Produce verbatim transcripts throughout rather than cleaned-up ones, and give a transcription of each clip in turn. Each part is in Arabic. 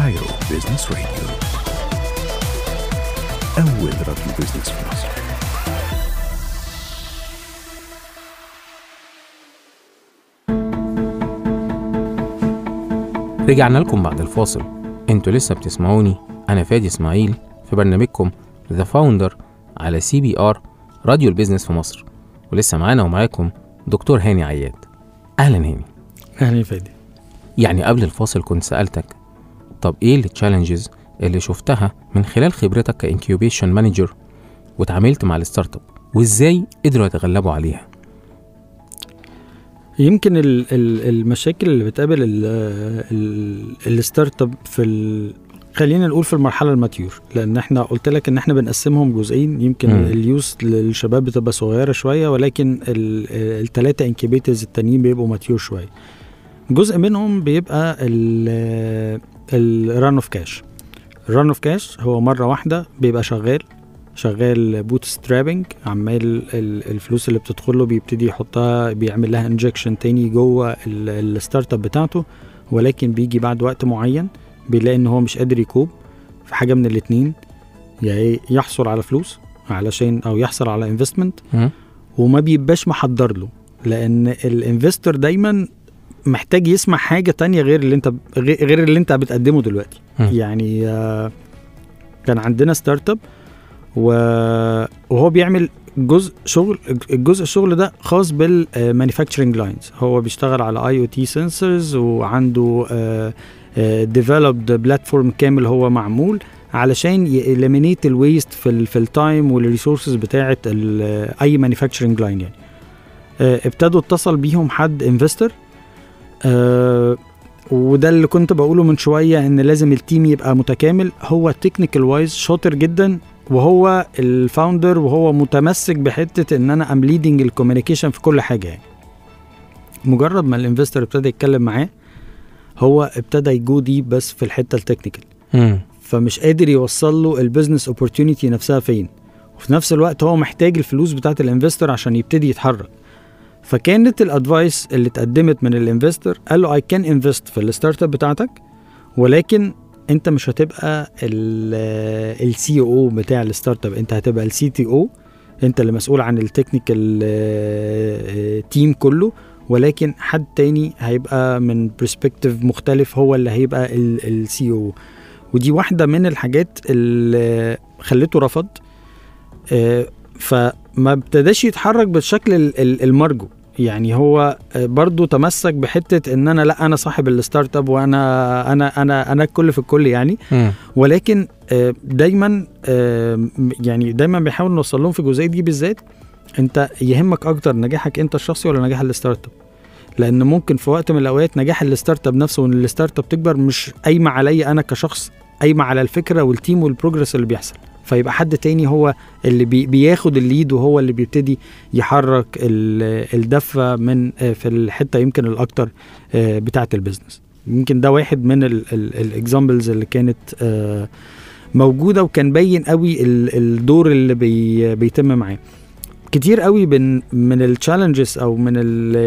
كايرو بيزنس راديو، أول راديو بيزنس في مصر. رجعنا لكم بعد الفاصل. انتوا لسه بتسمعوني، أنا فادي إسماعيل في برنامجكم The Founder على سي بي آر راديو البيزنس في مصر، ولسه معانا ومعاكم دكتور هاني عياد. أهلا هاني. أهلا فادي. يعني قبل الفاصل كنت سألتك طب إيه التشالنجز اللي شفتها من خلال خبرتك كإنكيوبيشن مانجر وتعاملت مع الستارت اب، وإزاي قدروا يتغلبوا عليها؟ يمكن ال- ال- المشاكل اللي بتقابل الستارت اب في ال... خلينا نقول في المرحله الماتيور، لان احنا قلت لك ان احنا بنقسمهم جزئين. يمكن م. اليوس للشباب بتبقى صغيره شويه، ولكن الثلاثه انكيبيترز التانيين بيبقوا ماتيور شويه. جزء منهم بيبقى الران اوف كاش. الران اوف كاش هو مره واحده بيبقى شغال شغال بوت سترابنج، عمال الفلوس اللي بتدخل له بيبتدي يحطها، بيعمل لها انجكشن تاني جوه الستارت اب بتاعته، ولكن بيجي بعد وقت معين بيلاقي ان هو مش قادر يكوب في حاجه من الاثنين، يعني يحصل على فلوس علشان او يحصل على انفستمنت، وما بيبقاش محضر له، لان الانفستور دايما محتاج يسمع حاجه تانية غير اللي انت غير اللي انت بتقدمه دلوقتي. م. يعني كان عندنا ستارت اب وهو بيعمل جزء شغل، الجزء الشغل ده خاص بالمانيفاكتشرنج لاينز. هو بيشتغل على اي او تي سنسورز، وعنده ديفلوبد بلاتفورم كامل هو معمول علشان يإليمينيت الويست في في التايم والريسورسز بتاعه اي مانيفاكتشرنج لاين. يعني ابتدوا اتصل بيهم حد انفستور، وده اللي كنت بقوله من شويه، ان لازم التيم يبقى متكامل. هو تكنيكال وايز شاطر جدا، وهو الفاوندر، وهو متمسك بحته ان انا ام ليدنج الكوميونيكيشن في كل حاجه. يعني مجرد ما الانفستور ابتدى يتكلم معاه، هو ابتدى يجو دي بس في الحته التكنيكال، فمش قادر يوصل له البيزنس اوبورتيونيتي نفسها فين، وفي نفس الوقت هو محتاج الفلوس بتاعه الانفستور عشان يبتدي يتحرك. فكانت الادفايس اللي اتقدمت من الانفستور، قال له I can invest في الستارت اب بتاعتك، ولكن انت مش هتبقى السي او بتاع الستارت اب، انت هتبقى السي تي او، انت اللي مسؤول عن التكنيكال تيم كله، ولكن حد تاني هيبقى من برسبكتيف مختلف هو اللي هيبقى السي او. ودي واحدة من الحاجات اللي خلته رفض، فما ابتداش يتحرك بالشكل المرجو. يعني هو برضو تمسك بحتة ان انا لا انا صاحب الستارت اب، وانا انا انا انا الكل في الكل يعني. م. ولكن دايما يعني دايما بيحاول نوصل لهم في الجزئية دي بالذات، انت يهمك اكتر نجاحك انت الشخصي ولا نجاح الستارت اب؟ لان ممكن في وقت من الاوقات نجاح الستارت اب نفسه وان الستارت اب تكبر مش قايمه عليا انا كشخص، قايمه على الفكره والتيم والبروجرس اللي بيحصل، فيبقى حد تاني هو اللي بي بياخد الليد، وهو اللي بيبتدي يحرك الدفه من في الحته يمكن الاكتر بتاعه البيزنس. يمكن ده واحد من الاكزامبلز اللي كانت موجوده، وكان باين قوي الدور اللي بي بيتم معاه. كتير قوي من من التشالنجز او من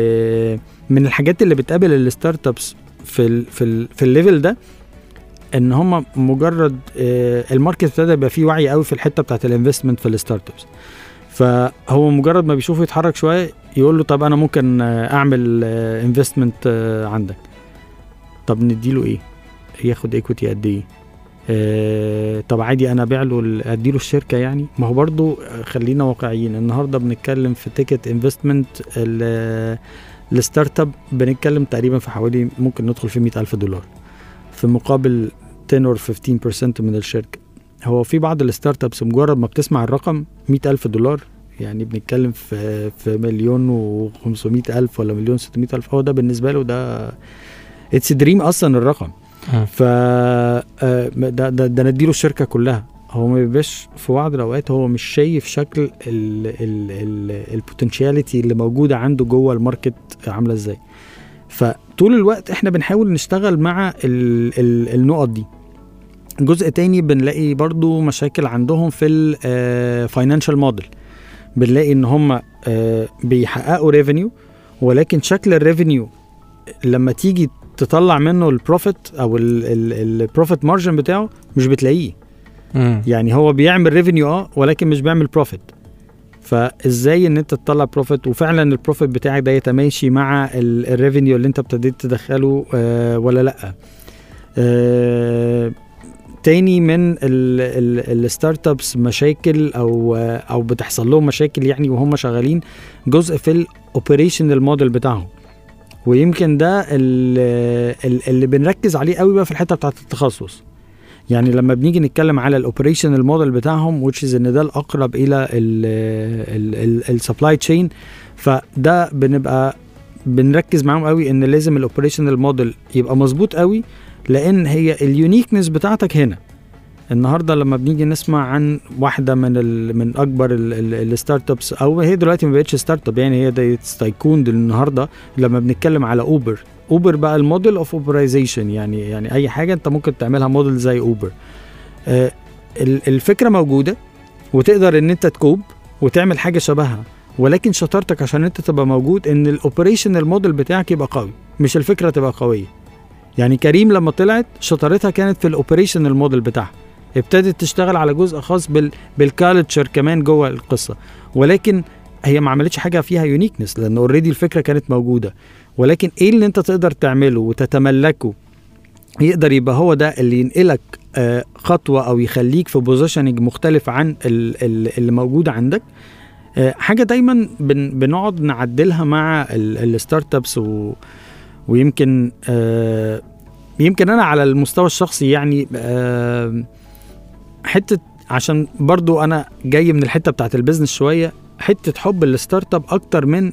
من الحاجات اللي بتقابل الستارت ابس في ال في ال في الليفل ده، ان هم مجرد الماركت ابتدى يبقى فيه وعي قوي في الحته بتاعه الانفستمنت في الستارت ابس، فهو مجرد ما بيشوفه يتحرك شويه يقول له طب انا ممكن اعمل انفستمنت عندك. طب نديله ايه؟ ياخد ايكويتي قد ايه؟ آه طب عادي انا ابيع له اديله الشركه يعني. ما هو برضو خلينا واقعيين، النهارده بنتكلم في تيكت انفستمنت الستارت اب، بنتكلم تقريبا في حوالي ممكن ندخل في مئة ألف دولار في مقابل عشرة or خمستاشر بالمية من الشركه. هو في بعض الستارت ابس مجرد ما بتسمع الرقم مئة ألف دولار، يعني بنتكلم في في مليون وخمسمائة ألف ولا مليون ستمائة ألف، هو ده بالنسبه له ده اتس دريم اصلا الرقم. ف ده ده, ده نديله الشركه كلها. هو ما بيبقاش في بعض الاوقات هو مش شايف شكل البوتنشاليتي اللي موجوده عنده جوه الماركت عامله ازاي. فطول الوقت احنا بنحاول نشتغل مع ال ال النقط دي. جزء تاني بنلاقي برضو مشاكل عندهم في الفاينانشال موديل، بنلاقي ان هم بيحققوا ريفينيو، ولكن شكل الريفينيو لما تيجي تطلع منه البروفيت او البروفيت مارجن بتاعه مش بتلاقيه. مم. يعني هو بيعمل ريفينيو اه ولكن مش بيعمل بروفيت. فازاي ان انت تطلع بروفيت وفعلا البروفيت بتاعك ده يتماشي مع الريفينيو اللي انت ابتديت تدخله آه ولا لا. آه تاني من الستارت ابس مشاكل او او بتحصل لهم مشاكل يعني وهم شغالين جزء في الاوبريشنال موديل بتاعهم، ويمكن ده اللي بنركز عليه قوي بقى في الحته بتاعه التخصص. يعني لما بنيجي نتكلم على الاوبريشنال موديل بتاعهم which is ان ده الاقرب الى السبلاي تشين، فده بنبقى بنركز معاهم قوي ان لازم الاوبريشنال موديل يبقى مظبوط قوي، لان هي اليونيكنس بتاعتك هنا. النهارده لما بنيجي نسمع عن واحده من ال من اكبر الستارت ابس، او هي دلوقتي ما بقتش ستارت اب يعني هي دي تايكون النهارده، لما بنتكلم على اوبر اوبر بقى الموديل اوف اوبرايزيشن، يعني يعني اي حاجه انت ممكن تعملها موديل زي اوبر. آه الفكره موجوده وتقدر ان انت تكوب وتعمل حاجه شبهها، ولكن شطارتك عشان انت تبقى موجود ان الاوبريشنال موديل بتاعك يبقى قوي، مش الفكره تبقى قويه. يعني كريم لما طلعت شطارتها كانت في الاوبريشنال موديل بتاعها، ابتدت تشتغل على جزء خاص بال بالكالتشر كمان جوه القصه، ولكن هي ما عملتش حاجه فيها يونيكنس لان اوريدي الفكره كانت موجوده. ولكن ايه اللي انت تقدر تعمله وتتملكه يقدر يبقى هو ده اللي ينقلك آه خطوه او يخليك في بوزيشننج مختلف عن اللي موجود عندك. آه حاجه دايما بن بنقعد نعدلها مع الستارت ابس، و ويمكن آه يمكن انا على المستوى الشخصي يعني آه حته، عشان برضو انا جاي من الحته بتاعت البيزنس شويه، حته حب الستارت اب اكتر من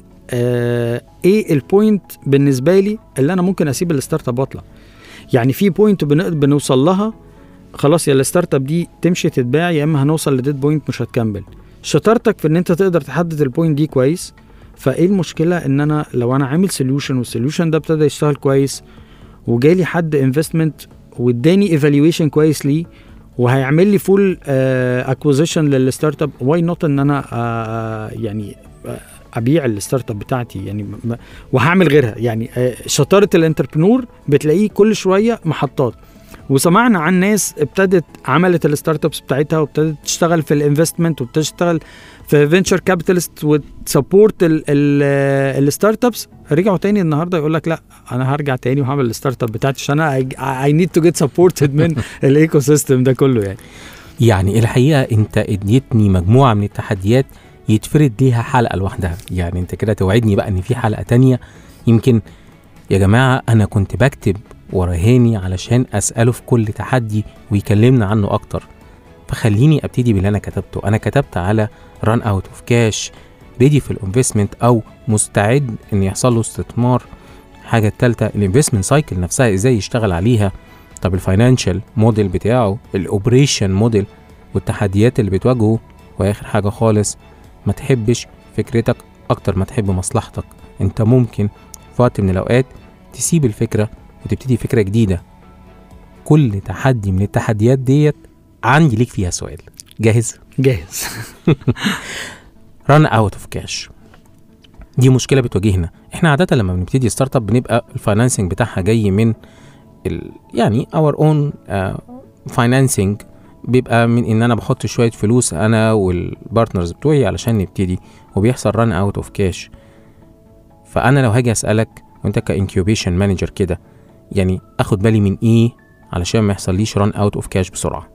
آه ايه البوينت بالنسبه لي اللي انا ممكن اسيب الستارت اب واطلع. يعني في بوينت بنوصل لها خلاص يا الستارت اب دي تمشي تتباع، يا اما هنوصل لديد بوينت مش هتكمل. شطارتك في ان انت تقدر تحدد البوينت دي كويس. فايه المشكله ان انا لو انا عامل سوليوشن والسوليوشن ده ابتدى يشتغل كويس وجالي حد انفستمنت واداني ايفالويشن كويس ليه وهيعمل لي فول اكوزيشن للستارت اب، واي نوت ان انا uh, يعني uh, ابيع الستارت اب بتاعتي يعني وهعمل غيرها. يعني uh, شطاره الانتربرنور بتلاقيه كل شويه محطات. وسمعنا عن ناس ابتدت عملت الستارت ابس بتاعتها وابتدت تشتغل في الانفستمنت وبتشتغل في فينشر كابيتالست وتسبورت الستارت ابس، رجعوا تاني النهارده يقول لك لا انا هرجع تاني وهعمل الستارت اب بتاعتي عشان انا اي نيد تو جيت سبورتد من الايكو سيستم ده كله. يعني يعني الحقيقه انت اديتني مجموعه من التحديات يتفرد ليها حلقه لوحدها. يعني انت كده توعدني بقى ان في حلقه تانية. يمكن يا جماعه انا كنت بكتب ورا هاني علشان اساله في كل تحدي ويكلمنا عنه اكتر، فخليني ابتدي باللي انا كتبته. انا كتبت على ران اوت اوف كاش، ريدي في الانفستمنت او مستعد ان يحصل له استثمار. حاجه الثالثه الانفستمنت سايكل نفسها ازاي يشتغل عليها. طب الفاينانشال موديل بتاعه، الاوبريشن موديل والتحديات اللي بتواجهه. واخر حاجه خالص ما تحبش فكرتك اكتر ما تحب مصلحتك. انت ممكن في وقت من الاوقات تسيب الفكره وتبتدي فكره جديده. كل تحدي من التحديات ديت عندي ليك فيها سؤال. جاهز؟ جاهز. ران اوت اوف كاش دي مشكله بتواجهنا احنا عاده لما بنبتدي ستارت اب، بنبقى الفاينانسنج بتاعها جاي من ال يعني اور اون فاينانسنج، بيبقى من ان انا بحط شويه فلوس انا والبارتنرز بتوعي علشان نبتدي، وبيحصل ران اوت اوف كاش. فانا لو هاجي اسالك وانت كانكيوبيشن مانجر كده، يعني اخد بالي من ايه علشان ما يحصليش ران اوت اوف كاش بسرعه؟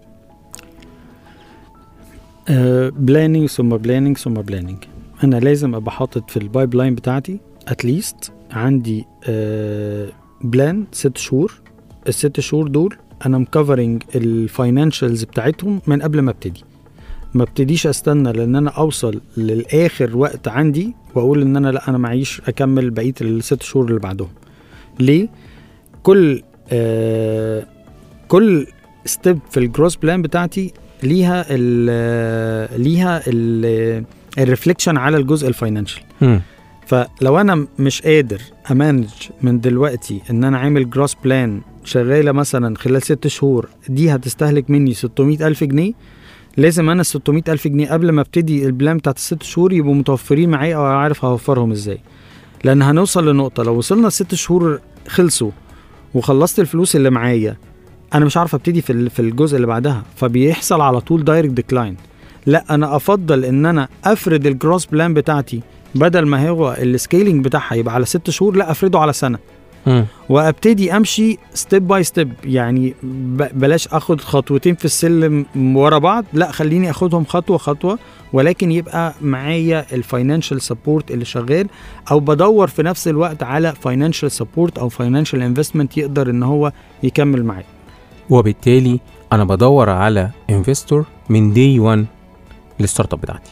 بلاننج ثم بلاننج ثم بلاننج. انا لازم ابقى حاطط في البايب لاين بتاعتي اتليست عندي بلان ست شهور. الست شهور دول انا مكفرنج الفاينانشالز بتاعتهم من قبل ما ابتدي. ما ابتديش استنى لان انا اوصل للاخر وقت عندي واقول ان انا لا انا معيش اكمل بقيه الست شهور اللي بعدهم. ليه؟ كل آه كل ستيب في الجروس بلان بتاعتي ليها ال ليها الريفليكشن على الجزء الفاينانشال. فلو انا مش قادر امانج من دلوقتي ان انا عامل جروس بلان شغاله مثلا خلال ست شهور دي هتستهلك مني ستمائة ألف جنيه، لازم انا ستمائة ألف جنيه قبل ما ابتدي البلان بتاعت الست شهور يبقوا متوفرين معايا او عارف هوفرهم ازاي. لان هنوصل لنقطه لو وصلنا الست شهور خلصوا وخلصت الفلوس اللي معايا، انا مش عارف ابتدي في في الجزء اللي بعدها، فبيحصل على طول دايركت ديكلاين. لا انا افضل ان انا افرد الجروس بلان بتاعتي بدل ما هو السكيلينج بتاعها يبقى على ست شهور، لا افرده على سنه م. وابتدي امشي ستيب باي ستيب. يعني بلاش اخد خطوتين في السلم ورا بعض، لا خليني اخدهم خطوه خطوه، ولكن يبقى معايا الفاينانشال سبورت اللي شغال، او بدور في نفس الوقت على فاينانشال سبورت او فاينانشال انفستمنت يقدر ان هو يكمل معايا. وبالتالي انا بدور على انفستور من دي واحد للستارت اب بتاعتي.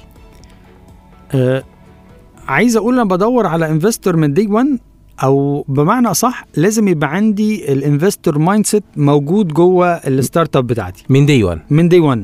أه عايز اقول انا بدور على انفستور من دي واحد، او بمعنى اصح لازم يبقى عندي الانفستور مايند سيت موجود جوه الستارت اب بتاعتي من دي واحد. من دي واحد.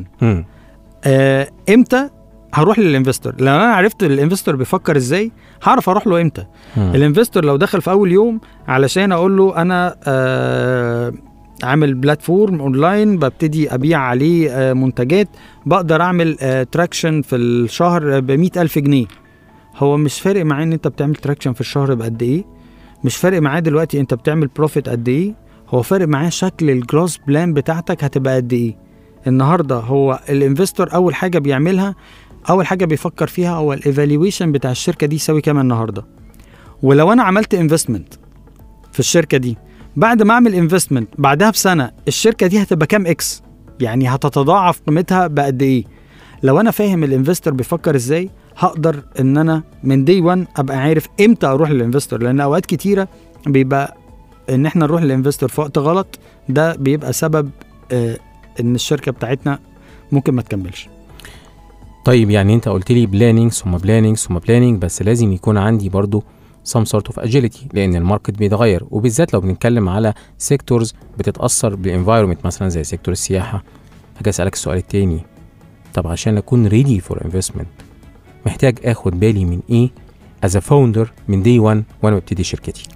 آه امتى هروح للانفستور؟ لو انا عرفت الانفستور بيفكر ازاي هعرف اروح له امتى. مم. الانفستور لو دخل في اول يوم علشان اقول له انا آه عامل بلاتفورم اونلاين ببتدي ابيع عليه آه منتجات، بقدر اعمل آه تراكشن في الشهر بمئة الف جنيه، هو مش فارق معاه ان انت بتعمل تراكشن في الشهر بقد ايه، مش فارق معاه دلوقتي انت بتعمل بروفيت قد ايه، هو فارق معاه شكل الجروس بلان بتاعتك هتبقى قد ايه. النهارده هو الانفستور اول حاجه بيعملها، اول حاجه بيفكر فيها هو الايفالويشن بتاع الشركه دي يساوي كام النهارده. ولو انا عملت انفستمنت في الشركه دي، بعد ما اعمل انفستمنت بعدها بسنه الشركه دي هتبقى كام اكس، يعني هتتضاعف قيمتها بقد ايه. لو انا فاهم الانفستور بيفكر ازاي هقدر ان انا من دي واحد ابقى عارف امتى اروح للانفستور، لان اوقات كتيره بيبقى ان احنا نروح للانفستور في وقت غلط، ده بيبقى سبب آه ان الشركه بتاعتنا ممكن ما تكملش. طيب يعني انت قلت لي بلانينج ثم بلانينج ثم بلانينج، بس لازم يكون عندي برضو some sort of agility، لان الماركت بيتغير، وبالذات لو بنتكلم على سيكتورز بتتاثر بالانفايرمنت مثلا زي سيكتور السياحه. هاجي اسالك السؤال التاني، طب عشان اكون ready for investment محتاج اخد بالي من ايه as a founder من day one وانا ببتدي شركتي؟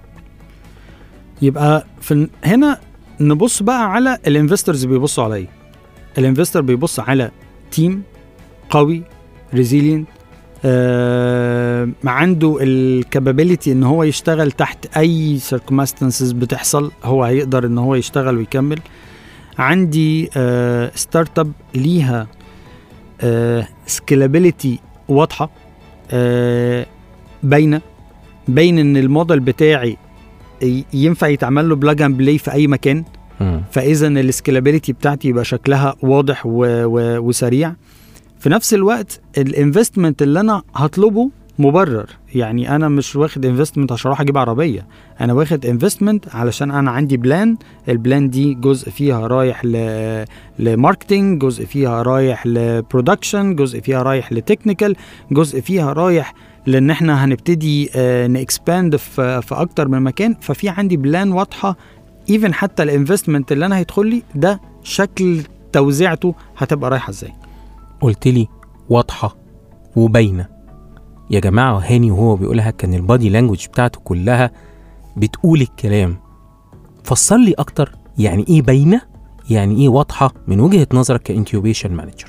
يبقى في هنا نبص بقى على الانفسترز بيبصوا على ايه. الانفستر بيبص على تيم قوي ريزيلينت، آه عنده الكابابيليتي ان هو يشتغل تحت اي circumstances بتحصل، هو هيقدر ان هو يشتغل ويكمل. عندي آه ستارت اب ليها آه سكيلابيليتي واضحه، آه باينه باين ان الموديل بتاعي ينفع يتعمل له بلاج اند بلاي في اي مكان، فاذا السكيلابيليتي بتاعتي يبقى شكلها واضح و و وسريع. في نفس الوقت الانفستمنت اللي انا هطلبه مبرر، يعني انا مش واخد انفستمنت عشان اروح اجيب عربيه، انا واخد انفستمنت علشان انا عندي بلان، البلان دي جزء فيها رايح ل لماركتنج، جزء فيها رايح لبرودكشن، جزء فيها رايح لتكنيكال، جزء فيها رايح لان احنا هنبتدي اه نكسباند في في اكتر من مكان. ففي عندي بلان واضحه، ايفن حتى الانفستمنت اللي انا هيدخل لي ده شكل توزيعته هتبقى رايحه ازاي. قلت لي واضحه وباينه يا جماعه، هاني وهو بيقولها كان البادي لانجوج بتاعته كلها بتقول الكلام. فسر لي اكتر، يعني ايه باينه، يعني ايه واضحه من وجهه نظرك كانكيوبيشن مانجر؟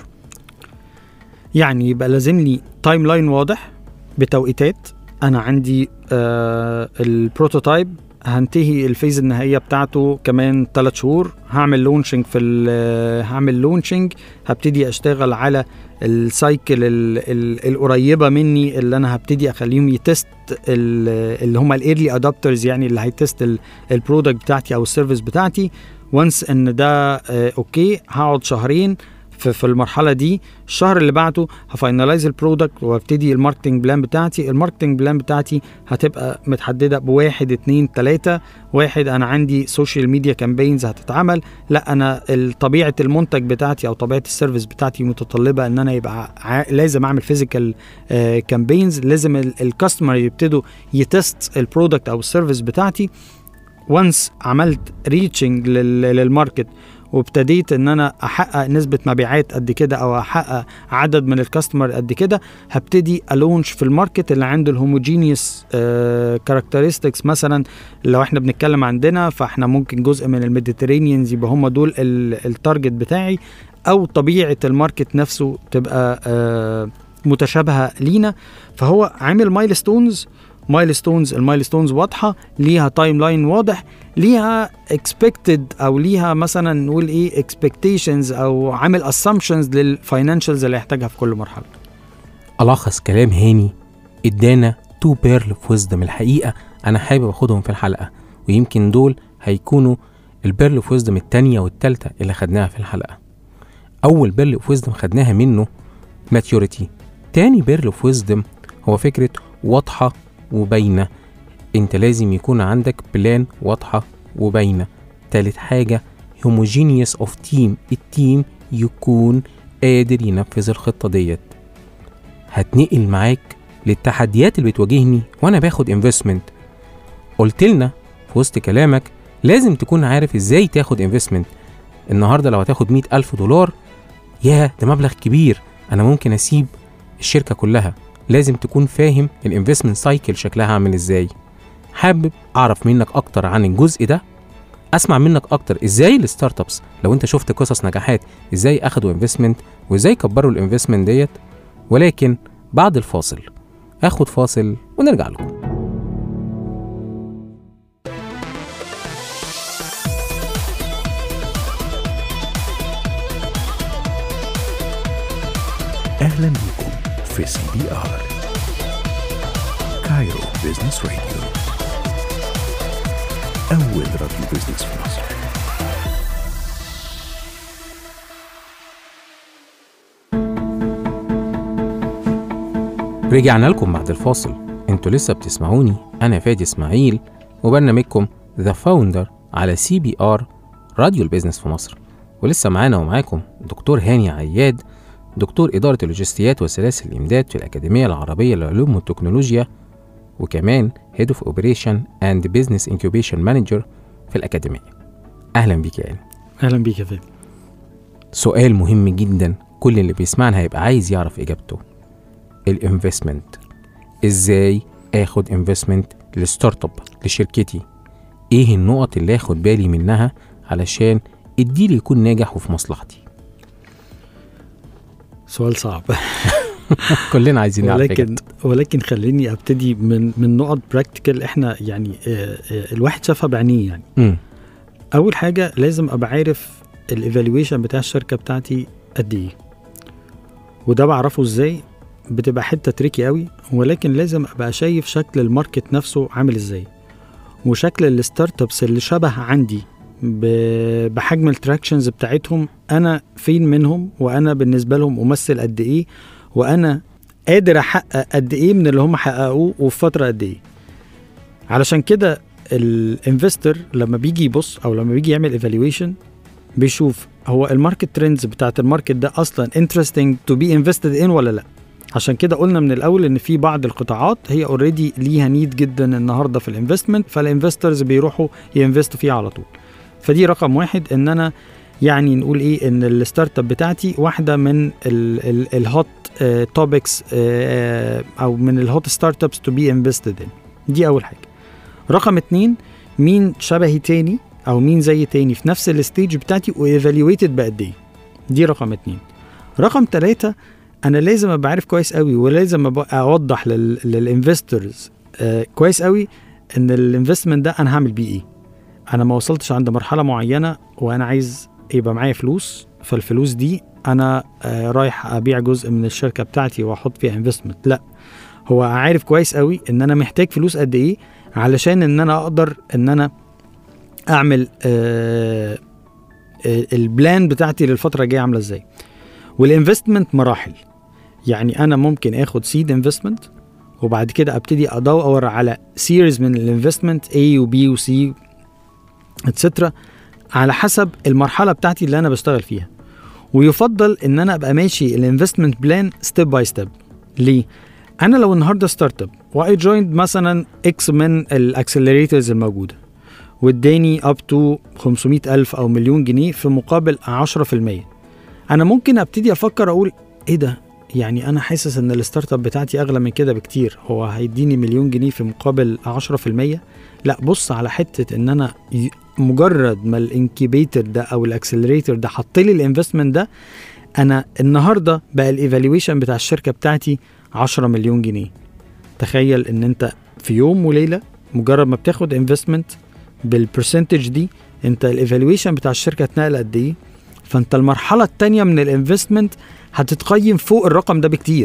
يعني يبقى لازم لي تايم لاين واضح بتوقيتات، انا عندي آه البروتوتايب هنتهي الفيز النهائيه بتاعته كمان ثلاث شهور، هعمل لونشنج في هعمل لونشنج هبتدي اشتغل على السايكل القريبه مني اللي انا هبتدي اخليهم يتست اللي هم الايرلي ادابترز، يعني اللي هيتست البرودكت بتاعتي او السيرفيس بتاعتي. وانس ان ده آه اوكي هقعد شهرين في المرحله دي، الشهر اللي بعده هفاينلايز البرودكت وابتدي الماركتنج بلان بتاعتي. الماركتنج بلان بتاعتي هتبقى متحدده بواحد اتنين تلاته. واحد، انا عندي سوشيال ميديا كامبينز هتتعمل، لا انا طبيعه المنتج بتاعتي او طبيعه السيرفيس بتاعتي متطلبه ان انا يبقى ع... لازم اعمل فيزيكال كامبينز، لازم الكاستمر يبتدوا يتست البرودكت او السيرفيس بتاعتي. وانس عملت ريتشنج للماركت وابتديت ان انا احقق نسبه مبيعات قد كده او احقق عدد من الكاستمر قد كده، هبتدي الونش في الماركت اللي عنده الهوموجينيوس كاركترستكس. مثلا لو احنا بنتكلم عندنا فاحنا ممكن جزء من الميديترينيانز يبقى هم دول التارجت بتاعي، او طبيعه الماركت نفسه تبقى آه متشابهه لينا. فهو عامل مايلستونز مايلستونز، المايلستونز واضحه، ليها تايم لاين واضح، ليها اكسبكتد او ليها مثلا نقول ايه اكسبكتيشنز او عامل اسامبشنز للفاينانشالز اللي هيحتاجها في كل مرحله. ألخص كلام هاني ادانا تو بيرل اوف ويزدم الحقيقه انا حابب اخدهم في الحلقه، ويمكن دول هيكونوا البيرل اوف ويزدم الثانيه والثالثه اللي خدناها في الحلقه. اول بيرل اوف ويزدم خدناها منه ماتيوريتي، تاني بيرل اوف ويزدم هو فكره واضحه وباينه، انت لازم يكون عندك بلان واضحه وباينه. تالت حاجه هوموجينيوس اوف تيم، التيم يكون قادر ينفذ الخطه ديت. هتنقل معاك للتحديات اللي بتواجهني وانا باخد انفستمنت. قلت لنا في وسط كلامك لازم تكون عارف ازاي تاخد انفستمنت. النهارده لو هتاخد مئة ألف دولار، ياه ده مبلغ كبير، انا ممكن اسيب الشركه كلها. لازم تكون فاهم الانفستمنت سايكل شكلها عامل ازاي. حابب اعرف منك اكتر عن الجزء ده، اسمع منك اكتر ازاي الستارت ابس لو انت شفت قصص نجاحات ازاي اخدوا انفستمنت وازاي كبروا الانفستمنت ديت. ولكن بعد الفاصل اخد فاصل ونرجع لكم. أهلا بكم في سي بي آر كايرو بيزنس راديو، أول راديو بيزنس في مصر. رجعنا لكم بعد الفاصل، انتوا لسه بتسمعوني، انا فادي اسماعيل وبرنامجكم ذا فاوندر على سي بي آر راديو البيزنس في مصر. ولسه معانا ومعاكم دكتور هاني عياد، دكتور إدارة اللوجستيات وسلاسل الإمداد في الأكاديمية العربية للعلوم والتكنولوجيا، وكمان Head of Operation and Business Incubation Manager في الأكاديمية. أهلا بيك يا هاني. اهلا بيك يا فادي. سؤال مهم جدا كل اللي بيسمعنا هيبقى عايز يعرف إجابته، الانفستمنت. إزاي آخد انفستمنت للستارت اب لشركتي؟ إيه النقط اللي آخد بالي منها علشان الديل يكون ناجح وفي مصلحتي؟ سؤال صعب. كلنا عايزين نعرف ولكن ولكن خليني ابتدي من من نقط براكتيكال احنا يعني اه اه الواحد شافها بعينيه يعني. م. اول حاجه لازم ابقى عارف الايفالويشن بتاع الشركه بتاعتي قد ايه، وده بعرفه ازاي؟ بتبقى حته تريكي قوي، ولكن لازم ابقى شايف شكل الماركت نفسه عامل ازاي، وشكل الستارت ابس اللي شبه عندي بحجم التراكشنز بتاعتهم انا فين منهم، وانا بالنسبه لهم ممثل قد ايه، وانا قادر احقق قد ايه من اللي هم حققوه وفي فتره قد ايه. علشان كده الانفستر لما بيجي يبص او لما بيجي يعمل ايفالويشن بيشوف هو الماركت ترندز بتاعت الماركت ده اصلا interesting to be invested in ولا لا. عشان كده قلنا من الاول ان في بعض القطاعات هي اوريدي ليها نيد جدا النهارده في الانفستمنت، فالانفسترز بيروحوا ينفستوا فيها على طول. فدي رقم واحد، ان انا يعني نقول ايه ان الستارت اب بتاعتي واحده من الهوت توبكس او من الهوت ستارت ابس تو بي انفستد ان. دي اول حاجه. رقم اتنين، مين شبهي تاني او مين زي تاني في نفس الستيج بتاعتي وايفالويتد بقد ايه. دي رقم اتنين. رقم تلاتة، انا لازم ابقى عارف كويس قوي ولازم ابقى اوضح للانفسترز كويس قوي ان الانفستمنت ده انا هعمل بيه ايه. انا ما وصلتش عند مرحله معينه وانا عايز يبقى معايا فلوس، فالفلوس دي انا آه رايح ابيع جزء من الشركه بتاعتي واحط فيها انفستمنت. لا، هو عارف كويس قوي ان انا محتاج فلوس قد ايه علشان ان انا اقدر ان انا اعمل آه آه البلان بتاعتي للفتره الجايه عامله ازاي. والانفستمنت مراحل، يعني انا ممكن اخد سيد انفستمنت وبعد كده ابتدي ادور على سيريز من الانفستمنت A و B و C اتسترا على حسب المرحله بتاعتي اللي انا بشتغل فيها. ويفضل ان انا ابقى ماشي الانفستمنت بلان ستيب باي ستيب. ليه؟ انا لو النهارده ستارت اب واي جويند مثلا اكس من الاكسلريتورز الموجوده واداني اب تو خمسمية الف او مليون جنيه في مقابل عشرة في المية، انا ممكن ابتدي افكر اقول ايه ده، يعني انا حاسس ان الستارت اب بتاعتي اغلى من كده بكتير، هو هيديني مليون جنيه في مقابل عشرة في المية؟ لا، بص على حته ان انا مجرد ما الانكيبيتر ده او الاكسلريتور ده حط لي الانفستمنت ده، انا النهارده بقى الايفالويشن بتاع الشركه بتاعتي عشرة مليون جنيه. تخيل ان انت في يوم وليله مجرد ما بتاخد انفستمنت بالبرسنتج دي انت الايفالويشن بتاع الشركه اتنقل قد ايه، فانت المرحله الثانيه من الانفستمنت هتتقيم فوق الرقم ده بكتير.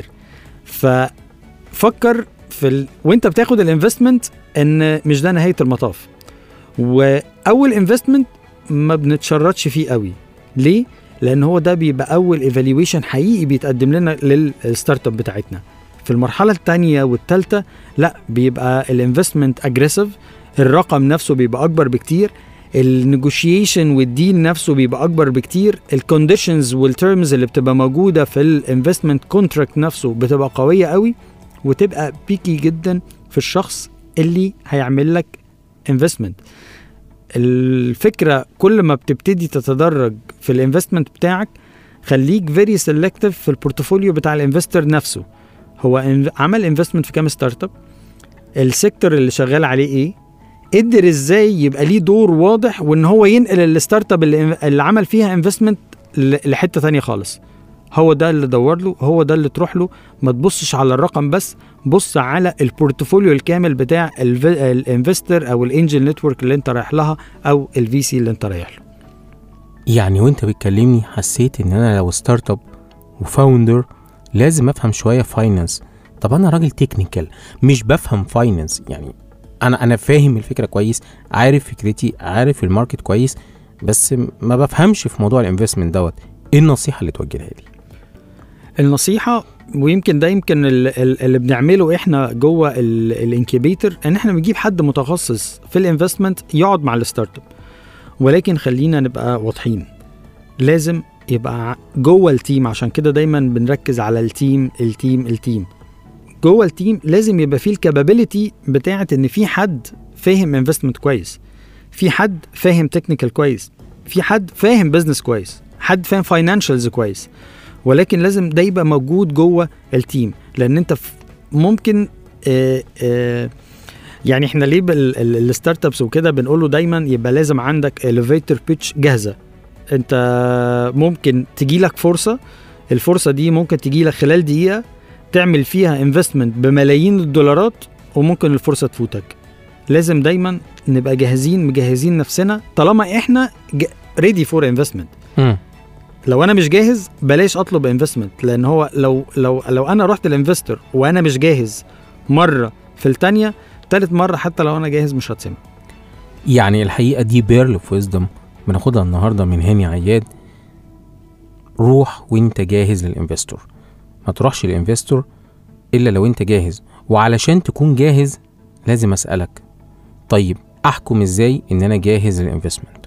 ففكر في ال... وانت بتاخد الانفستمنت ان مش ده نهايه المطاف. واول انفستمنت ما بنتشرطش فيه قوي. ليه؟ لان هو ده بيبقى اول ايفالويشن حقيقي بيتقدم لنا للستارت اب بتاعتنا. في المرحله الثانيه والثالثه لا، بيبقى الانفستمنت اجريسيف، الرقم نفسه بيبقى اكبر بكتير، النيجوشيشن والديل نفسه بيبقى اكبر بكتير، الكونديشنز والتيرمز اللي بتبقى موجوده في الانفستمنت كونتراكت نفسه بتبقى قويه قوي، وتبقى بيكي جدا في الشخص اللي هيعمل لك انفستمنت. الفكره كل ما بتبتدي تتدرج في الانفستمنت بتاعك خليك فيري سيلكتيف في البورتفوليو بتاع الانفستر نفسه. هو عمل انفستمنت في كام ستارت اب، السيكتور اللي شغال عليه ايه، قدر ازاي يبقى ليه دور واضح وان هو ينقل الستارت اب اللي, اللي عمل فيها انفستمنت لحته ثانيه خالص. هو ده اللي دور له، هو ده اللي تروح له. ما تبصش على الرقم بس، بص على البورتفوليو الكامل بتاع الانفستر او الانجل نتورك اللي انت رايح لها او الفي سي اللي انت رايح له. يعني وانت بتكلمني حسيت ان انا لو ستارت اب وفاوندر لازم افهم شويه فاينانس. طب انا راجل تكنيكال مش بفهم فاينانس، يعني انا انا فاهم الفكره كويس، عارف فكرتي، عارف الماركت كويس، بس ما بفهمش في موضوع الانفستمنت دوت. ايه النصيحه اللي توجهها لي؟ النصيحه ويمكن ده يمكن اللي بنعمله احنا جوه الانكيبيتر ان احنا بنجيب حد متخصص في الانفستمنت يقعد مع الستارت اب. ولكن خلينا نبقى واضحين، لازم يبقى جوه التيم. عشان كده دايما بنركز على التيم التيم التيم جوه التيم لازم يبقى فيه الكابابيليتي بتاعت ان في حد فاهم انفستمنت كويس، في حد فاهم تكنيكال كويس، في حد فاهم بزنس كويس، حد فاهم فاينانشالز كويس. ولكن لازم ده يبقى موجود جوه التيم، لان انت ممكن آآ آآ يعني احنا ليه الستارت ابس وكده بنقوله دايما يبقى لازم عندك elevator pitch جاهزه. انت ممكن تجيلك فرصه، الفرصه دي ممكن تجيلك خلال دقيقه تعمل فيها انفستمنت بملايين الدولارات، وممكن الفرصه تفوتك. لازم دايما نبقى جاهزين مجهزين نفسنا طالما احنا ريدي فور انفستمنت. لو انا مش جاهز بلاش اطلب انفستمنت، لان هو لو لو لو انا رحت الانفستر وانا مش جاهز مره، في الثانيه ثالث مره حتى لو انا جاهز مش هتسمع. يعني الحقيقه دي بيرل اوف ويزدم بناخدها النهارده من هاني عياد. روح وانت جاهز للانفستور، ما تروحش للانفستور الا لو انت جاهز. وعلشان تكون جاهز لازم اسالك، طيب احكم ازاي ان انا جاهز للانفستمنت؟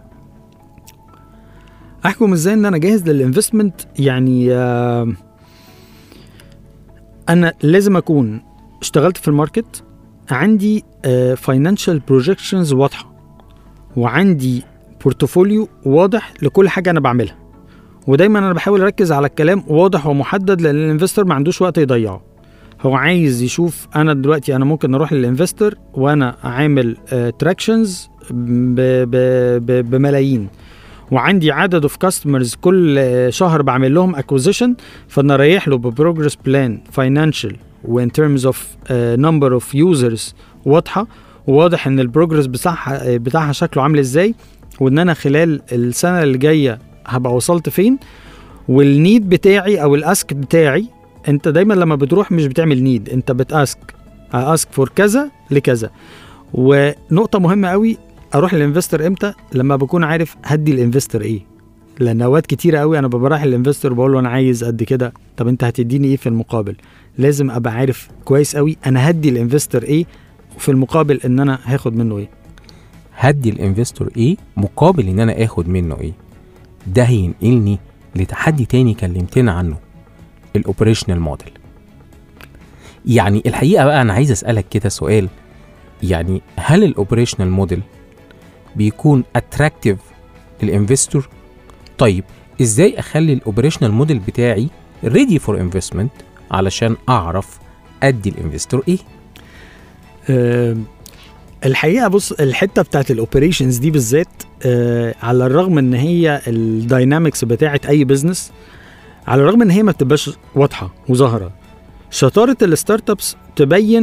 احكم ازاي ان انا جاهز للانفستمنت؟ يعني آه انا لازم اكون اشتغلت في الماركت، عندي فاينانشال آه بروجكشنز واضحه، وعندي بورتفوليو واضح لكل حاجه انا بعملها. ودايما انا بحاول اركز على الكلام واضح ومحدد، لان الانفستور ما عندوش وقت يضيعه. هو عايز يشوف انا دلوقتي انا ممكن اروح للانفستور وانا عامل تراكشنز بملايين، وعندي عدد اوف كاستمرز كل شهر بعمل لهم اكوزيشن، فانا رايح له ببروجرس بلان فاينانشال وان تيرمز اوف نمبر اوف يوزرز واضحه، وواضح ان البروجرس بتاعها بتاعها شكله عامل ازاي، وان انا خلال السنه اللي جايه هبقى وصلت فين، والنيد بتاعي او الاسك بتاعي. انت دايما لما بتروح مش بتعمل نيد، انت بتاسك اسك فور كذا لكذا. ونقطه مهمه قوي، اروح للانفستور امتى؟ لما بكون عارف هدي الانفستور ايه. لان اوقات كتيره قوي انا ببقى رايح للانفستور بقول له انا عايز قد كده، طب انت هتديني ايه في المقابل؟ لازم ابقى عارف كويس قوي انا هدي الانفستور ايه في المقابل ان انا هاخد منه ايه. هدي الانفستور ايه مقابل ان انا اخد منه ايه. ده هينقلني لتحدي تاني كلمتنا عنه، الاوبريشنال موديل. يعني الحقيقه بقى انا عايز اسالك كده سؤال، يعني هل الاوبريشنال موديل بيكون اتراكتيف للانفستور؟ طيب ازاي اخلي الاوبريشنال موديل بتاعي ريدي فور انفستمنت علشان اعرف ادي الانفستور ايه؟ أه الحقيقه بص، الحته بتاعت الاوبريشنز دي بالذات أه على الرغم ان هي الداينامكس بتاعت اي بزنس، على الرغم ان هي ما بتبقاش واضحه وظاهره، شطاره الستارت ابس تبين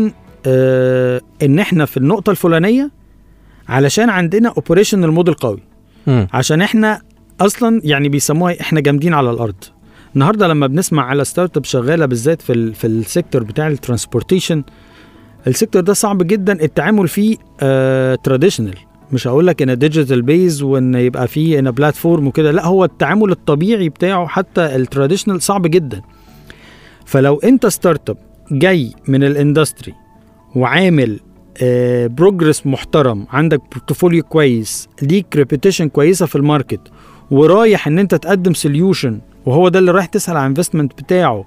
آه ان احنا في النقطه الفلانيه علشان عندنا اوبريشنال موديل قوي، م. عشان احنا اصلا يعني بيسموها احنا جامدين على الارض. النهارده لما بنسمع على ستارت اب شغاله بالذات في ال في السيكتور بتاع الترانسبورتيشن، السيكتور ده صعب جدا التعامل فيه تراديشنال، آه مش هقول لك ان ديجيتال بيز وان يبقى فيه ان بلاتفورم وكده، لا هو التعامل الطبيعي بتاعه حتى التراديشنال صعب جدا. فلو انت ستارت اب جاي من الاندستري وعامل آه بروجرس محترم، عندك بورتفوليو كويس، ليك ريبيتيشن كويسه في الماركت، ورايح ان انت تقدم سوليوشن وهو ده اللي رايح تسأل عن انفستمنت بتاعه،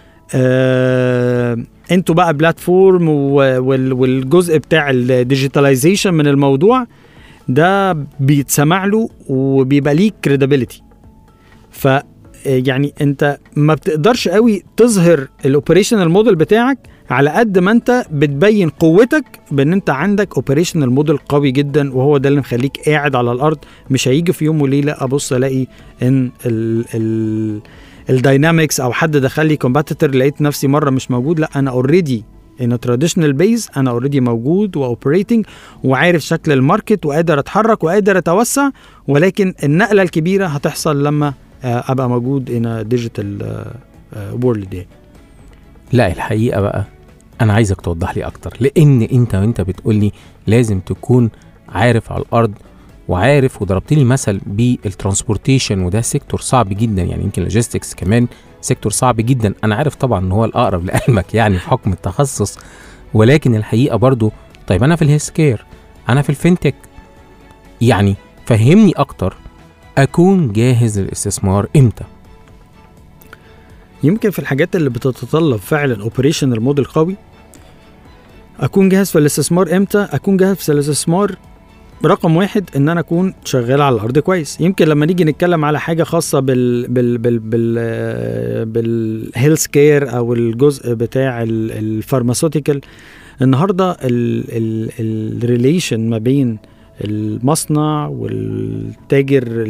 آه انتوا بقى بلاتفورم والجزء بتاع الديجيتاليزيشن من الموضوع ده بيتسمع له وبيبقى ليك كريديبيليتي. ف يعني انت ما بتقدرش قوي تظهر الاوبريشنال موديل بتاعك على قد ما انت بتبين قوتك بان انت عندك اوبريشنال موديل قوي جدا، وهو ده اللي مخليك قاعد على الارض. مش هيجي في يوم وليله ابص الاقي ان ال ال الداينامكس او حد دخل لي كومبيتيتور لقيت نفسي مره مش موجود، لا انا اوريدي ان تراديشنال بيز، انا اوريدي موجود واوبريتنج وعارف شكل الماركت وقادر اتحرك وقادر اتوسع، ولكن النقله الكبيره هتحصل لما ابقى موجود ان ديجيتال وورلد يعني. لا الحقيقه بقى انا عايزك توضح لي اكتر، لان انت وانت بتقول لي لازم تكون عارف على الارض وعارف، وضربت لي مثل بالترانسبورتيشن وده سيكتور صعب جدا، يعني يمكن لوجيستكس كمان سيكتور صعب جدا. انا عارف طبعا ان هو الاقرب لقلبك يعني في حكم التخصص، ولكن الحقيقه برضو طيب انا في الهيلث كير، انا في الفينتك، يعني فهمني اكتر اكون جاهز للاستثمار امتى؟ يمكن في الحاجات اللي بتتطلب فعلا اوبريشنال موديل قوي اكون جاهز في الاستثمار امتى؟ اكون جاهز في الاستثمار رقم واحد ان انا اكون شغال على الارض كويس. يمكن لما نيجي نتكلم على حاجه خاصه بال بال بال بال بالهيلث كير او الجزء بتاع الفارماسيوتيكال، النهارده الريليشن ما بين المصنع والتاجر،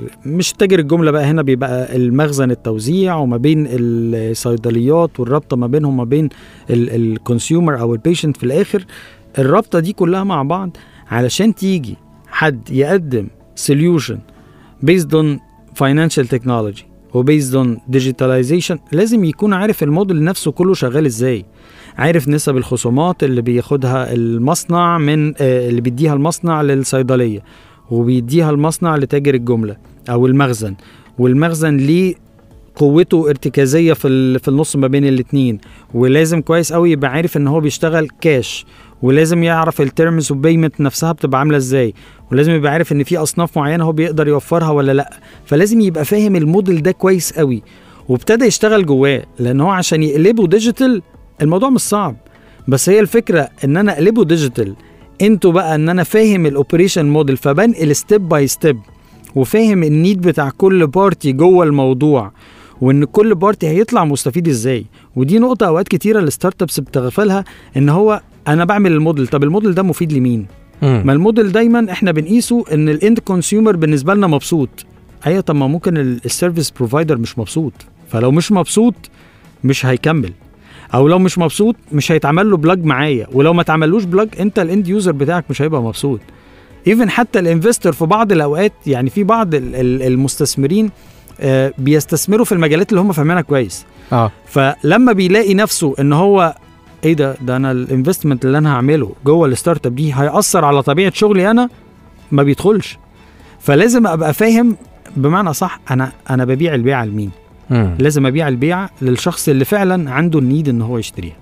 مش تاجر الجمله بقى، هنا بيبقى المخزن التوزيع، وما بين الصيدليات والرابطه ما بينهم ما بين الكونسيومر او البيشنت في الاخر، الرابطه دي كلها مع بعض علشان تيجي حد يقدم solution based on financial technology و based on digitalization لازم يكون عارف الموديل نفسه كله شغال ازاي، عارف نسب الخصومات اللي بياخدها المصنع من آه اللي بيديها المصنع للصيدلية وبيديها المصنع لتاجر الجملة او المخزن، والمخزن ليه قوته ارتكازية في في النص ما بين الاتنين، ولازم كويس قوي يبقى عارف ان هو بيشتغل كاش، ولازم يعرف التيرمز وبيمنت نفسها بتبقى عامله ازاي، ولازم يبقى عارف ان في اصناف معينه هو بيقدر يوفرها ولا لا. فلازم يبقى فاهم الموديل ده كويس قوي وابتدى يشتغل جواه، لان هو عشان يقلبه ديجيتال الموضوع مش صعب، بس هي الفكره ان انا اقلبه ديجيتال انتوا بقى ان انا فاهم الاوبريشن موديل، فبنقل ستيب باي ستيب وفاهم النيد بتاع كل بارتي جوه الموضوع، وان كل بارتي هيطلع مستفيد ازاي. ودي نقطه اوقات كتيره الستارت ابس بتغفلها، ان هو انا بعمل الموديل، طب الموديل ده مفيد لمين؟ مم. ما الموديل دايما احنا بنقيسه ان الاند كونسيومر بالنسبه لنا مبسوط. ايوه طب ما ممكن السيرفيس بروفايدر مش مبسوط، فلو مش مبسوط مش هيكمل، او لو مش مبسوط مش هيتعمل له بلاج معايا، ولو ما اتعملوش بلاج انت الاند يوزر بتاعك مش هيبقى مبسوط. ايفن حتى الانفستور في بعض الاوقات، يعني في بعض المستثمرين آه بيستثمروا في المجالات اللي هم فاهمينها كويس، اه فلما بيلاقي نفسه ان هو ايه ده ده انا الانفستمنت اللي انا هعمله جوه الستارت اب دي هيأثر على طبيعه شغلي انا، ما بيدخلش. فلازم ابقى فاهم بمعنى صح انا انا ببيع البيعه لمين. مم. لازم ابيع البيعه للشخص اللي فعلا عنده النيد ان هو يشتريها.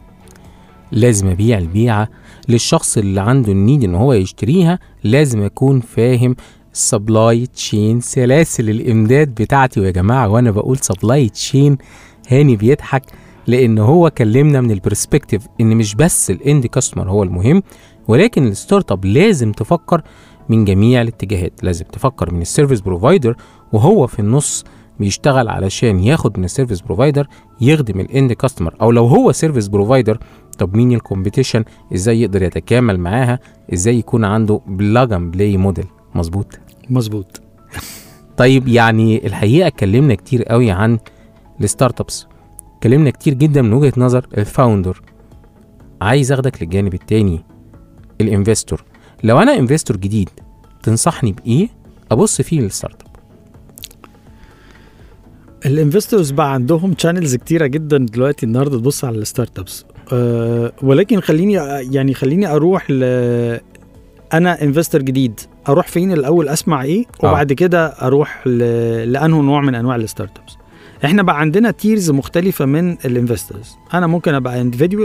لازم ابيع البيعه للشخص اللي عنده النيد ان هو يشتريها. لازم اكون فاهم سبلاي تشين، سلاسل الامداد بتاعتي. ويا جماعه وانا بقول سبلاي تشين هاني بيضحك، لان هو كلمنا من البرسبكتيف ان مش بس الاند كاستمر هو المهم، ولكن الستارت اب لازم تفكر من جميع الاتجاهات. لازم تفكر من السيرفيس بروفايدر وهو في النص بيشتغل علشان ياخد من السيرفيس بروفايدر يخدم الاند كاستمر، او لو هو سيرفيس بروفايدر طب مين الكومبيتيشن، ازاي يقدر يتكامل معاها، ازاي يكون عنده بلاج اند بلاي موديل. مظبوط مظبوط. طيب يعني الحقيقه اتكلمنا كتير قوي عن الستارت ابس، اتكلمنا كتير جدا من وجهه نظر الفاوندر، عايز اخدك للجانب التاني، الانفستور. لو انا انفستور جديد تنصحني بايه ابص فيه للستارت اب؟ الانفستورز بقى عندهم شانلز كتيره جدا دلوقتي النهارده تبص على الستارت ابس، أه ولكن خليني يعني خليني اروح ل انا انفستور جديد اروح فين الاول، اسمع ايه، وبعد آه. كده اروح ل... لانه نوع من انواع الستارت ابس. احنا بقى عندنا تيرز مختلفه من الانفستورز. انا ممكن ابقى انديفيدوال،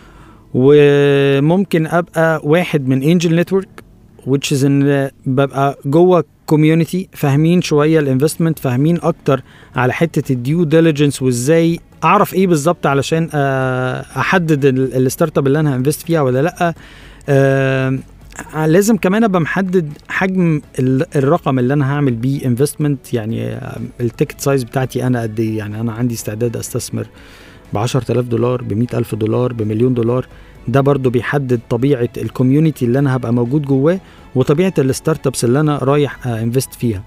وممكن ابقى واحد من انجل نتورك which is ان ببقى جوه كوميونتي فاهمين شويه الانفستمنت، فاهمين اكتر على حته الديو ديليجنس وازاي اعرف ايه بالظبط علشان احدد الستارت اب اللي انا هانفست فيها ولا لا. أه لازم كمان ابقى محدد حجم الرقم اللي انا هعمل بيه انفستمنت، يعني التيكت سايز بتاعتي انا قد ايه، يعني انا عندي استعداد استثمر ب عشرة آلاف دولار، ب مئة ألف دولار، بمليون دولار. ده برضو بيحدد طبيعه الكوميونتي اللي انا هبقى موجود جواه وطبيعه الستارت ابس اللي انا رايح انفست فيها.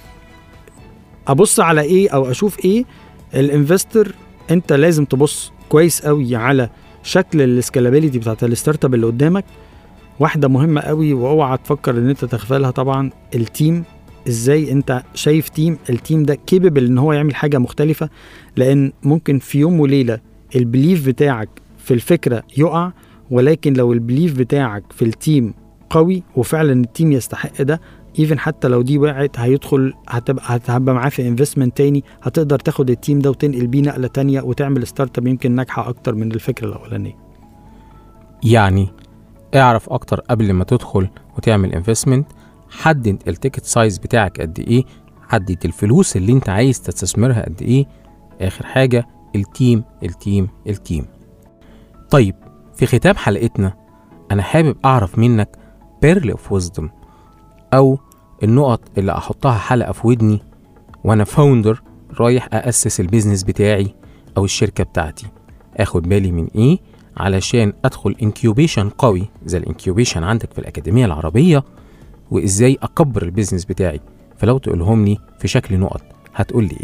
ابص على ايه او اشوف ايه الانفستور؟ انت لازم تبص كويس قوي على شكل السكالابيليتي بتاعت الستارت اب اللي قدامك. واحدة مهمة قوي واوعى تفكر ان انت تغفلها طبعا، التيم. ازاي انت شايف تيم التيم ده كيبل ان هو يعمل حاجة مختلفة، لان ممكن في يوم وليلة البليف بتاعك في الفكرة يقع، ولكن لو البليف بتاعك في التيم قوي وفعلا التيم يستحق ده، ايفن حتى لو دي وقعت هيدخل هتبقى هتبقى معاه في انفستمنت تاني، هتقدر تاخد التيم ده وتنقل بيه نقلة تانية وتعمل ستارت اب يمكن ناجحة اكتر من الفكرة الاولانية. يعني اعرف اكتر قبل ما تدخل وتعمل انفستمنت، حدد التيكت سايز بتاعك قد ايه، حدد الفلوس اللي انت عايز تستثمرها قد ايه. اخر حاجة التيم التيم التيم. طيب في ختام حلقتنا انا حابب اعرف منك بيرل اوف ويزدم، او النقط اللي احطها حلقة في ودني وانا فاوندر رايح أأسس البيزنس بتاعي او الشركة بتاعتي. اخد بالي من ايه علشان ادخل انكيوبيشن قوي زي الانكيوبيشن عندك في الأكاديمية العربية، وازاي اكبر البيزنس بتاعي؟ فلو تقولهم لي في شكل نقط هتقول لي ايه؟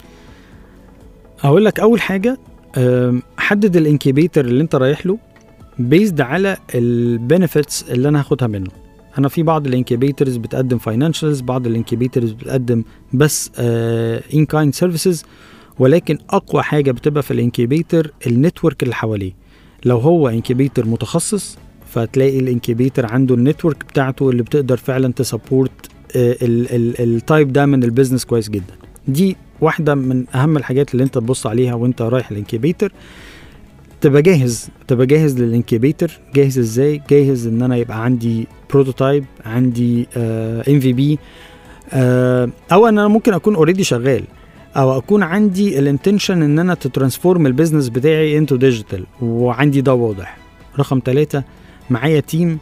هقول لك اول حاجة حدد الانكيبيتر اللي انت رايح له بيزد على البنفيتس اللي انا هاخدها منه. انا في بعض الانكيبيترز بتقدم فاينانشالز، بعض الانكيبيترز بتقدم بس ان كايند سيرفيسز، ولكن اقوى حاجة بتبقى في الانكيبيتر النتورك اللي حواليه. لو هو انكيبيتر متخصص فتلاقي الانكيبيتر عنده النتورك بتاعته اللي بتقدر فعلا تسبورت التايب ده من البيزنس كويس جدا. دي واحدة من اهم الحاجات اللي انت تبص عليها وانت رايح الانكيبيتر. تبقى جاهز تبقى جاهز للانكيبيتر. جاهز ازاي؟ جاهز ان انا يبقى عندي بروتوتايب، عندي ام في بي، او ان انا ممكن اكون اوريدي شغال، او اكون عندي الانتنشن ان انا تترانسفورم البيزنس بتاعي انتو ديجيتال وعندي ده واضح. رقم ثلاثة معايا تيم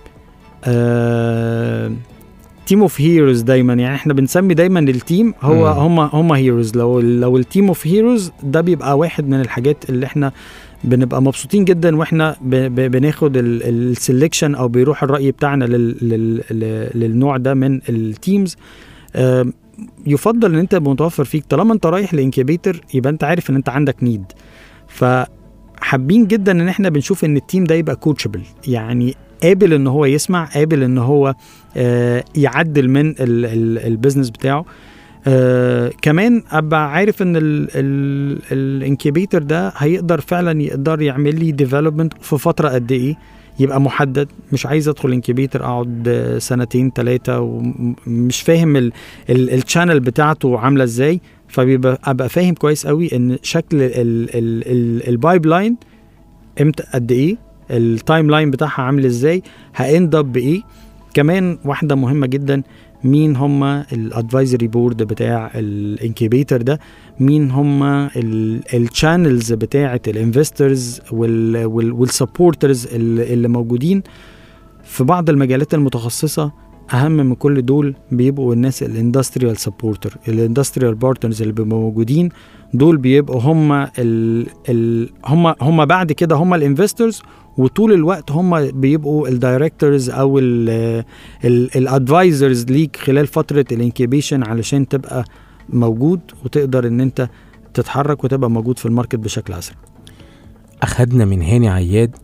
تيم اوف هيروز. دايما يعني احنا بنسمي دايما التيم هو هم هم هيروز. لو لو التيم اوف هيروز ده بيبقى واحد من الحاجات اللي احنا بنبقى مبسوطين جدا واحنا بناخد السلكشن او بيروح الرأي بتاعنا للنوع ده من التيمز. يفضل ان انت متوفر فيك طالما انت رايح لانكيبيتر، يبقى انت عارف ان انت عندك نيد. فحابين جدا ان احنا بنشوف ان التيم ده يبقى كوتشبل، يعني قابل ان هو يسمع، قابل ان هو آه يعدل من البيزنس بتاعه. آه كمان ابقى عارف ان الانكيبيتر ده هيقدر فعلا يقدر يعمل لي ديفلوبمنت في فتره قد ايه، يبقى محدد. مش عايز ادخل انكيبيتر اقعد سنتين ثلاثه ومش فاهم الشانل بتاعته عامله ازاي. فبيبقى ابقى فاهم كويس قوي ان شكل البايب لاين امتى قد ايه، التايم لاين بتاعها عامل ازاي، هاند اب بايه. كمان واحده مهمه جدا، مين هم الادفايزري بورد بتاع الانكيبيتر ده، مين هم الشانلز بتاعه الانفسترز والسبورترز اللي موجودين في بعض المجالات المتخصصه. اهم من كل دول بيبقوا الناس الاندستريال سبورتر، الاندستريال بارتنرز اللي بيبقوا موجودين دول بيبقوا هم ال ال هم هم بعد كده هم الانفسترز، وطول الوقت هم بيبقوا الدايركتورز او الادفايزرز ليك خلال فتره الانكيبيشن علشان تبقى موجود وتقدر ان انت تتحرك وتبقى موجود في الماركت بشكل اسرع. اخدنا من هاني عياد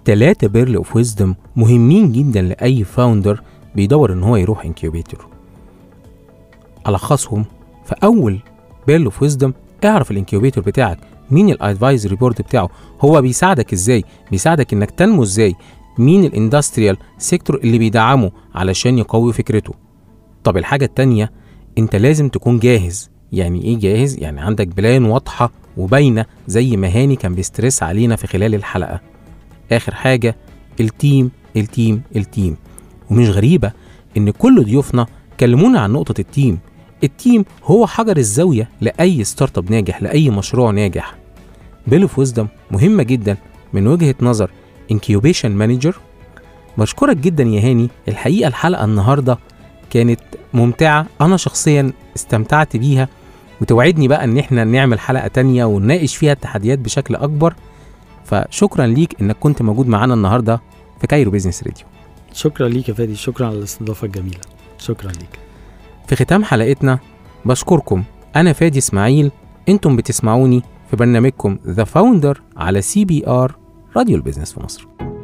تلاتة بيرل اوف ويزدم مهمين جدا لأي فاوندر بيدور ان هو يروح انكيوبيتور. ألخصهم في أول بيرل اوف ويزدم: اعرف الانكيوبيتور بتاعك، مين الادفايزري بورد بتاعه، هو بيساعدك ازاي، بيساعدك انك تنمو ازاي، مين الاندستريال سيكتور اللي بيدعمه علشان يقوي فكرته. طب الحاجة التانية، انت لازم تكون جاهز. يعني ايه جاهز؟ يعني عندك بلان واضحة وباينة زي ما هاني كان بيسترس علينا في خلال الحلقة. اخر حاجة، التيم التيم التيم. ومش غريبة ان كل ضيوفنا كلمونا عن نقطة التيم. التيم هو حجر الزاوية لأي ستارت اب ناجح، لأي مشروع ناجح. بيرل اوف ويزدم مهمة جدا من وجهة نظر انكيوبيشن مانجر. بشكرك جدا يا هاني، الحقيقة الحلقة النهاردة كانت ممتعة، أنا شخصيا استمتعت بيها، وتوعدني بقى ان احنا نعمل حلقة تانية ونناقش فيها التحديات بشكل أكبر. فشكرا ليك انك كنت موجود معانا النهاردة في كايرو بيزنس راديو. شكرا ليك يا فادي، شكرا على الاستضافة الجميلة، شكرا ليك. في ختام حلقتنا بشكركم، أنا فادي إسماعيل، أنتم بتسمعوني في برنامجكم ذا فاوندر على سي بي آر راديو البيزنس في مصر.